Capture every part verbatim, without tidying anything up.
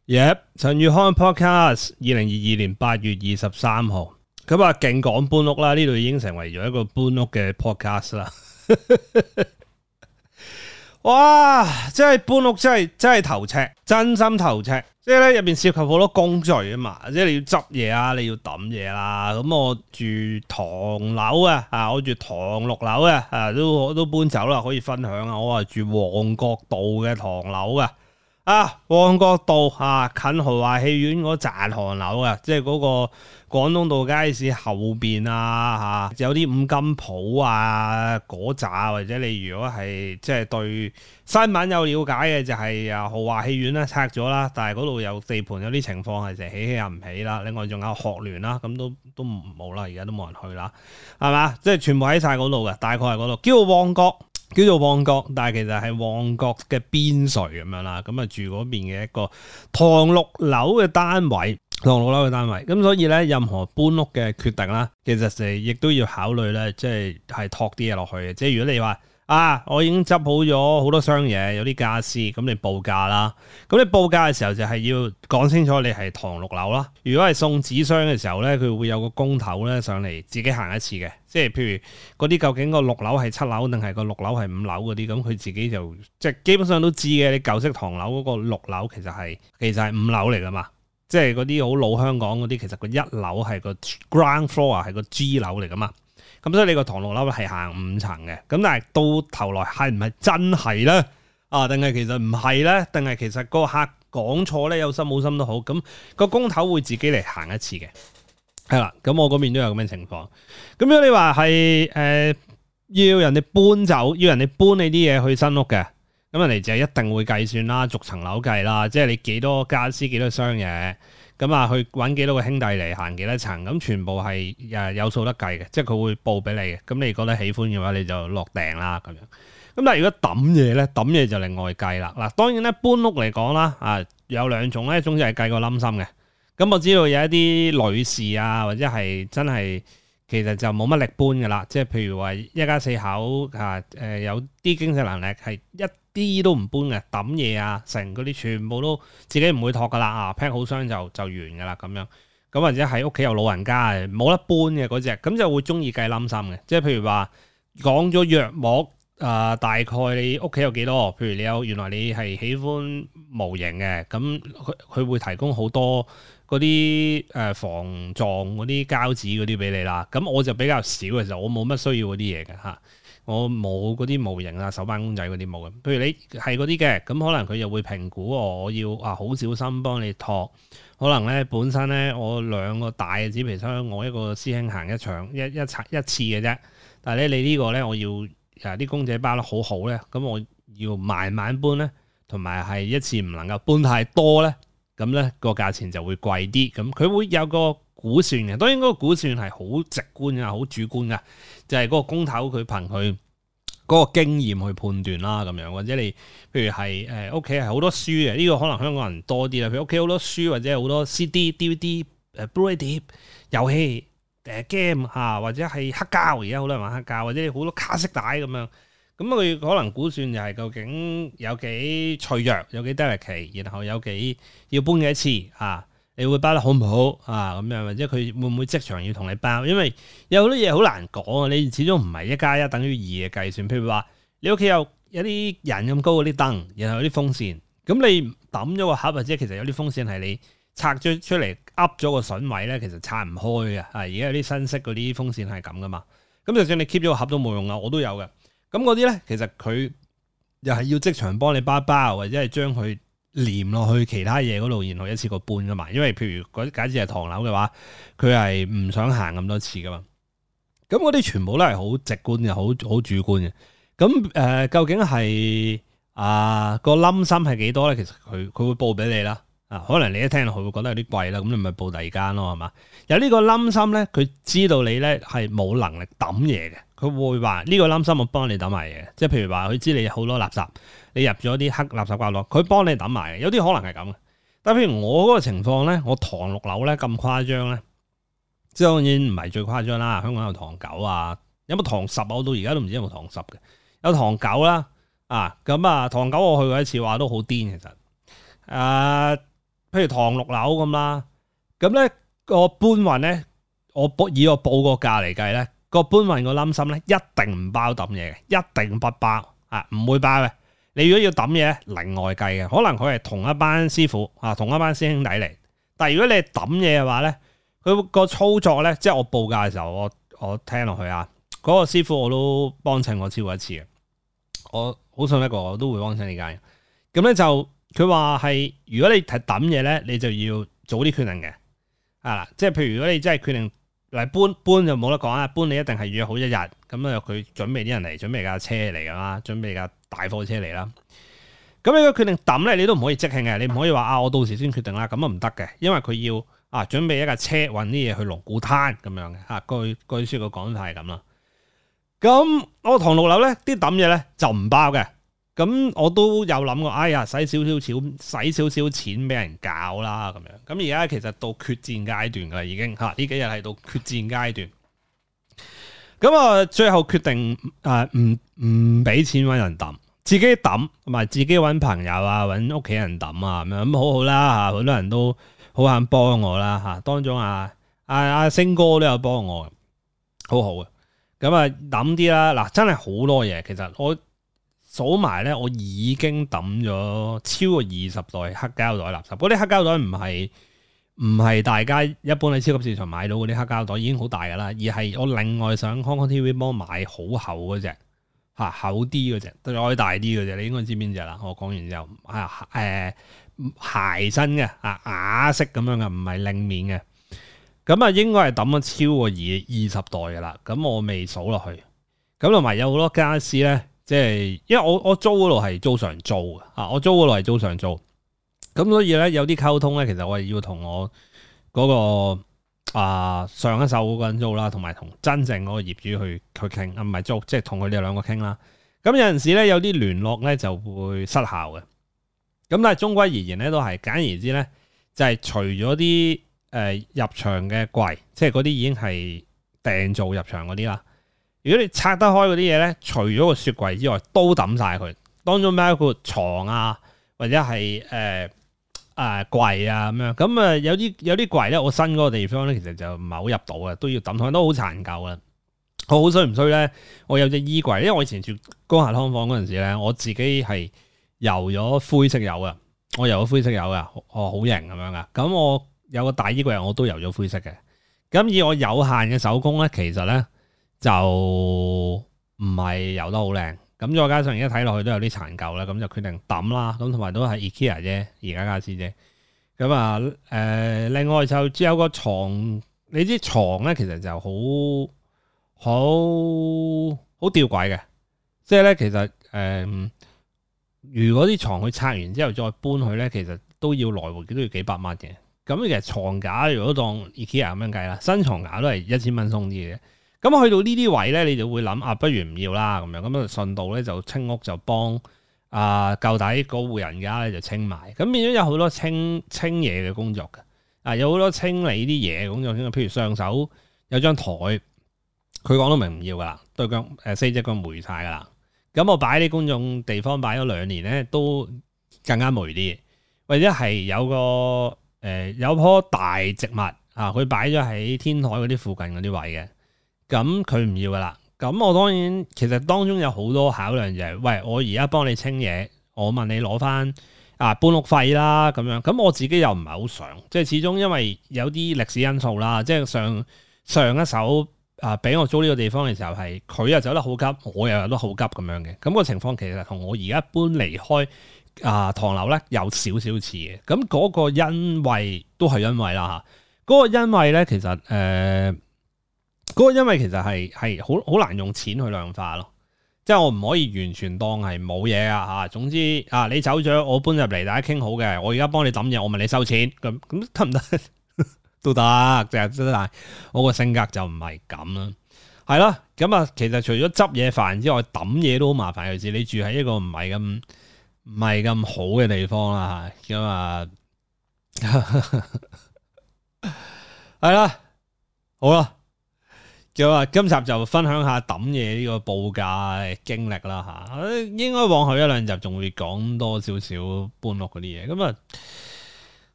Yep， 陳宇康 podcast， 二零二二年八月二十三號，咁啊勁講搬屋啦，呢度已經成為咗一個搬屋嘅 podcast 啦。哇！真係搬屋真係真係頭赤，真心頭赤。即係咧入邊涉及好多工序啊嘛，即係你要執嘢啊，你要抌嘢啦。咁我住唐樓啊，啊我住唐六樓啊，啊都都搬走啦，可以分享啊。我係住旺角道嘅唐樓啊。啊，旺角道啊，近豪華戲院嗰紮唐樓啊，即係嗰個廣東道街市後邊啊，嚇有啲五金鋪啊嗰紮，或者你如果係即係對新聞有了解嘅，就係啊豪華戲院咧拆咗啦，但係嗰度有地盤有啲情況係成起起又唔起啦，另外仲有學聯啦，咁都都冇啦，而家都冇人去啦，係嘛？即係全部喺晒嗰度嘅，大概係嗰度，叫做旺角。叫做旺角，但係其實係旺角嘅邊陲咁樣啦。咁啊住嗰邊嘅一個唐六樓嘅單位，唐六樓嘅單位。咁所以咧，任何搬屋嘅決定啦，其實就亦都要考慮咧，即係係托啲嘢落去嘅。即係如果你話啊，我已經執好咗好多箱嘢，有啲家私，咁你報價啦。咁你報價嘅時候就係要講清楚你係唐六樓啦。如果係送紙箱嘅時候咧，佢會有個工頭咧上嚟自己行一次嘅。即係譬如嗰啲究竟個六樓係七樓定係個六樓係五樓嗰啲，咁佢自己就即係基本上都知嘅。你舊式唐樓嗰個六樓其實係其實係五樓嚟噶嘛。即係嗰啲好老香港嗰啲，其實個一樓係個 ground floor 係個 G 樓嚟噶嘛。咁所以你個唐六樓係行五層嘅，咁但係到頭來係唔係真係咧？啊，定係其實唔係咧？定係其實個客講錯咧，有心冇心都好，咁個工頭會自己嚟行一次嘅，係啦。咁我嗰邊都有咁嘅情況。咁如果你話係誒要人哋搬走，要人哋搬你啲嘢去新屋嘅，咁人哋就一定會計算啦，逐層樓計啦，即係你幾多家私幾多箱嘢。咁啊，去揾幾多個兄弟嚟行幾多層，咁全部係誒有數得計嘅，即係佢會報俾你嘅。咁你覺得喜歡嘅話，你就落訂啦咁樣。咁但係如果抌嘢咧，抌嘢就另外計啦。嗱，當然咧搬屋嚟講啦，啊有兩種咧，一種就係計個冧心嘅。咁我知道有一啲女士啊，或者係真係其實就冇乜力搬㗎啦。即係譬如話一家四口啊，誒有啲經濟能力係一啲都唔搬嘅，抌嘢啊，成嗰啲全部都自己唔會托噶啦，啊 pack 好箱就就完噶啦咁樣，咁或者喺屋企有老人家冇得搬嘅嗰隻，咁就會中意計冧心嘅，即係譬如話講咗約莫啊，大概你屋企有幾多？譬如你有原來你係喜歡模型嘅，咁佢佢會提供好多嗰啲誒防撞嗰啲膠紙嗰啲俾你啦。咁我就比較少嘅時候，我冇乜需要嗰啲嘢嘅嚇。我冇嗰啲模型啊、手辦公仔嗰啲冇嘅。譬如你係嗰啲嘅，咁可能佢又會評估我，我要啊好小心幫你托。可能咧本身咧我兩個大嘅紙皮箱，我一個師兄行一場一一拆一次嘅啫。但係咧你呢個咧我要啊啲公仔包得好好咧，咁我要慢慢搬咧，同埋係一次唔能夠搬太多咧，咁咧個價錢就會貴啲。咁佢會有個估算嘅，當然嗰個估算係好直觀嘅，好主觀嘅，就係、是、嗰個工頭佢憑佢嗰個經驗去判斷啦，咁樣或者你譬如係誒屋企係好多書嘅，呢、這個可能香港人多啲啦。譬如屋企好多書或者好多 C D、D V D、誒 Blu-ray 碟、遊戲、誒 game 嚇，或者係黑膠，而家好多人玩黑膠，或者好多卡式帶咁樣。咁佢可能估算就係究竟有幾脆弱，有幾 delicate，然後有幾要搬幾次嚇。你會包得好唔好啊？咁樣或者佢會唔會即場要同你包？因為有好多嘢好難講啊！你始終唔係一加一等於二嘅計算。譬如話你屋企有有啲人咁高嗰啲燈，然後有啲風扇，咁你抌咗個盒，或者其實有啲風扇係你拆咗出嚟噏咗個筍位咧，其實拆唔開嘅。啊，而家有啲新式嗰啲風扇係咁噶嘛。咁就算你 keep 咗個盒都冇用啊！我都有嘅。咁嗰啲咧，其實佢又係要即場幫你包包，或者係將佢連落去其他嘢嗰度，然後一次過搬噶嘛。因為譬如嗰啲假設係唐樓嘅話，佢係唔想行咁多次噶嘛。咁嗰啲全部都係好直觀嘅，好好主觀嘅。咁誒、呃，究竟係啊、呃、個冧心係幾多咧？其實佢佢會報俾你啦。啊，可能你一聽落去會覺得有啲貴啦，咁你咪報第二間咯，係嘛？有呢個冧心咧，佢知道你咧係冇能力抌嘢嘅，佢會話呢個冧心我幫你抌埋嘢，即係譬如話佢知你有好多垃圾，你入咗啲黑垃圾角落，佢幫你抌埋嘅，有啲可能係咁嘅。但係譬如我嗰個情況咧，我唐六樓咧咁誇張咧，即係當然唔係最誇張啦。香港有唐九啊，有冇唐十啊？我到而家都唔知有冇唐十嘅，有唐九啦，啊咁啊唐九我去過一次，話都好癲其實，啊。 譬如唐六樓咁啦，咁咧個搬運咧，我報以我報個價嚟計咧，個搬運個冧心咧一定唔包抌嘢嘅，一定不包啊，唔會包嘅。你如果要抌嘢咧，另外計嘅，可能佢係同一班師傅啊，同一班師兄弟嚟。但係如果你係抌嘢嘅話咧，佢個操作咧，即係我報價嘅時候，我我聽落去啊，嗰、那個師傅我都幫襯過超過一次嘅，我好信得過，我都會幫襯呢間。咁咧就佢話係，如果你係抌嘢咧，你就要早啲決定嘅，啊，即係譬如如果你真係決定嚟搬搬就冇得講啦，搬你一定係約好一日，咁啊佢準備啲人嚟，準備架車嚟噶啦，準備架大貨車嚟啦。咁你個決定抌咧，你都唔可以即興嘅，你唔可以話啊，我到時先決定啦，咁啊唔得嘅，因為佢要啊準備一架車運啲嘢去龍鼓灘咁樣嘅，嚇據據說個講法係咁啦。咁我唐六樓咧啲抌嘢咧就唔包嘅。咁我都有諗過，哎呀，使少少錢，使少少錢俾人搞啦咁樣。咁而家其實到決戰階段噶啦，已經嚇呢幾日係到決戰階段。咁啊，最後決定誒唔唔俾錢揾人抌，自己抌同埋自己揾朋友啊，揾屋企人抌啊咁樣，咁好好啦嚇，好多人都好肯幫我啦嚇。當中啊啊啊星哥都有幫我，好好嘅。咁啊抌啲啦，嗱真係好多嘢，其實我。數埋咧，我已經抌咗超過二十袋黑膠袋垃圾。嗰啲黑膠袋唔係唔係大家一般喺超級市場買到嗰啲黑膠袋，已經好大噶啦，而係我另外上 Hong Kong T V B 買好厚嗰隻嚇，厚啲嗰隻，再大啲嗰隻，你應該知邊隻啦。我講完之後，啊誒、呃、鞋身嘅啊啞式咁樣嘅，唔係令面嘅。咁啊，應該係抌咗超過二二十袋噶啦。咁我未數落去。咁同埋有好多家私咧。即係，因為我我租嗰度係租上租嘅，啊，我租嗰度係租上租，咁所以咧有啲溝通咧，其實我係要同我嗰、嗰個啊上一手嗰個人租啦，同埋同真正嗰個業主去去傾，啊唔係租，即係同佢哋兩個傾啦。咁有陣時咧有啲聯絡咧就會失效嘅，咁但係終歸而言咧都係簡而言之咧，就係、是、除咗啲誒入場嘅櫃，即係嗰啲已經係訂做入場嗰啲啦。如果你拆得開嗰啲嘢咧，除咗個雪櫃之外，都抌晒佢。當中包括床啊，或者係誒誒櫃啊咁樣。咁啊有啲有啲櫃咧，我新嗰個地方咧，其實就唔係好入到嘅，都要抌，都好殘舊啦。我好衰唔衰咧？我有隻衣櫃，因為我以前住江夏劏房嗰陣時咧，我自己係油咗灰色油嘅，我油咗灰色油嘅，我好型咁樣噶。咁我有個大衣櫃，我都油咗灰色嘅。咁以我有限嘅手工咧，其實咧。就唔係游得好靚，咁再加上而家睇落去都有啲殘舊啦，咁就決定抌啦。咁同埋都係 IKEA 啫，而家家私啫。咁啊，誒、呃，另外就只有個床，你知床咧，其實就好好好吊詭嘅，即係咧，其實誒、呃，如果啲床佢拆完之後再搬去咧，其實都要來回都要幾百蚊嘅。咁其實床架如果當 IKEA 咁樣計啦，新床架都係一千蚊鬆啲嘅。咁去到呢啲位咧，你就會諗啊，不如唔要啦咁樣，咁啊順道咧就清屋就幫啊舊底嗰戶人家咧就清埋，咁變咗有好多清清嘢嘅工作嘅，啊有好多清理啲嘢嘅工作，譬如上手有張台，佢講到明唔要噶啦，對腳誒四隻腳霉晒噶啦，咁我擺啲公眾地方擺咗兩年咧，都更加霉啲，或者係有個誒、呃、有棵大植物啊，佢擺咗喺天台嗰啲附近嗰啲位嘅。咁佢唔要噶啦，咁我當然其實當中有好多考量就係、是，喂，我而家幫你清嘢，我問你攞翻啊搬屋費啦咁樣，咁我自己又唔係好想，即係始終因為有啲歷史因素啦，即係上上一手啊俾我租呢個地方嘅時候係佢又走得好急，我又走得好急咁樣嘅，咁、那個情況其實同我而家搬離開啊唐樓咧有少少似嘅，咁嗰個因為都係因為啦嚇，嗰、那個因為咧其實誒。呃嗰個因為其實係係好好難用錢去量化咯，即係我唔可以完全當係冇嘢啊嚇。總之啊，你走咗，我搬入嚟，大家傾好嘅，我而家幫你抌嘢，我問你收錢，咁咁得唔得？都得，就係真係我個性格就唔係咁啦。係啦，咁啊，其實除咗執嘢煩之外，抌嘢都好麻煩。尤其是你住喺一個唔係咁唔係咁好嘅地方啦嚇，咁啊係啦，好啦。咁啊，今集就分享下抌嘢呢個報價嘅經歷啦嚇，應該往後一兩集仲會講多少少搬屋嗰啲嘢。咁啊，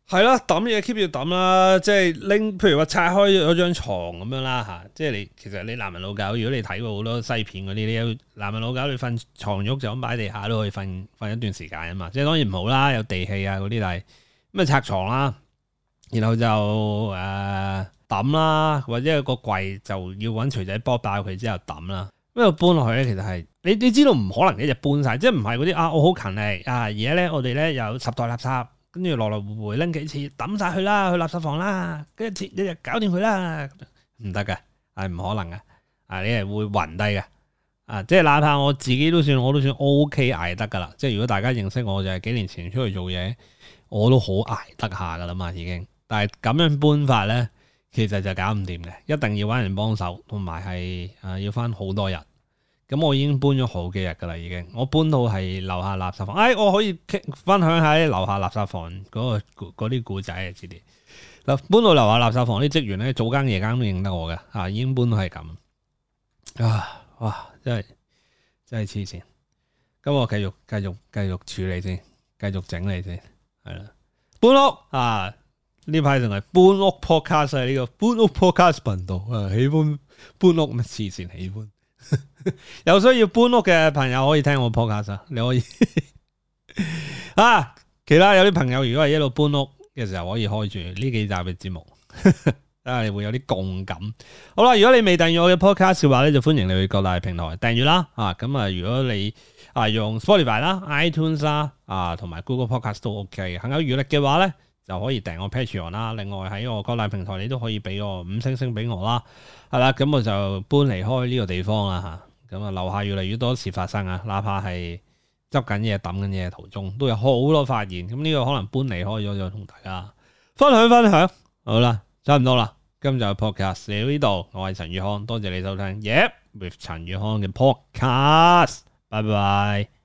係啦，抌嘢 keep 要抌啦，即係拎，譬如話拆開咗張床咁樣啦吓，即係你其實你男人老狗，如果你睇過好多西片嗰啲，你有男人老狗你瞓床褥就咁擺地下都可以瞓瞓一段時間啊嘛，即係當然唔好啦，有地氣啊嗰啲，但係咁啊拆床啦，然後就誒抌啦，或者個櫃就要揾錘仔剝爆佢之後抌啦，咁啊搬落去咧，其實係你你知道唔可能一日搬晒，即係唔係嗰啲啊我好勤力啊，而家咧我哋咧有十袋垃圾。跟住來來回回拎幾次，抌晒佢啦，去垃圾房啦，跟住一日搞掂佢啦，唔得嘅，係唔可能嘅，啊你係會暈低嘅，啊即係哪怕我自己都算，我都算 O K 捱得噶啦，即係如果大家認識我就係幾年前出去做嘢，我都好捱得下噶啦嘛已經，但係咁樣搬法咧，其實就搞唔掂嘅，一定要搵人幫手，同埋係啊要返好多日。咁我已經搬咗好幾日噶啦，已經我搬到係樓下垃圾房。哎，我可以分享下啲樓下垃圾房嗰、嗰個啲故仔啊，知啲嗱搬到樓下垃圾房啲職員咧，早更夜更都認得我嘅啊，已經搬到係咁啊！哇，真係真係黐線。咁我繼續繼續繼續處理先，繼續整理先，係啦。搬屋啊，呢排仲係搬屋 podcast 啊，呢個搬屋 podcast 頻道啊，喜歡搬屋咩黐線喜歡。有需要搬屋嘅朋友可以聽我 podcast，你可以啊。其他有啲朋友如果係一路搬屋嘅時候，可以開住呢幾集嘅節目，啊，你會有啲共感。好啦，如果你未訂閱我嘅 podcast 嘅話咧，就歡迎你去各大平台訂閱啦。啊，咁啊，如果你啊用 Spotify 啦、iTunes 啦啊同埋 Google Podcast 都 OK 嘅，行有餘力嘅話咧，就可以訂我 Patreon 啦。另外喺我各大平台，你都可以俾我五星星俾我啦。係啦，咁我就搬離開呢個地方啦吓，咁啊樓下越嚟越多事發生啊，哪怕係執緊嘢、抌緊嘢嘅途中，都有好多發現。咁呢個可能搬離開咗，就同大家分享分享。好啦，差唔多啦，今集嘅 podcast 嚟到呢度，我係陳宇康，多謝你收聽。Yep，with 陳宇康嘅 podcast，拜拜。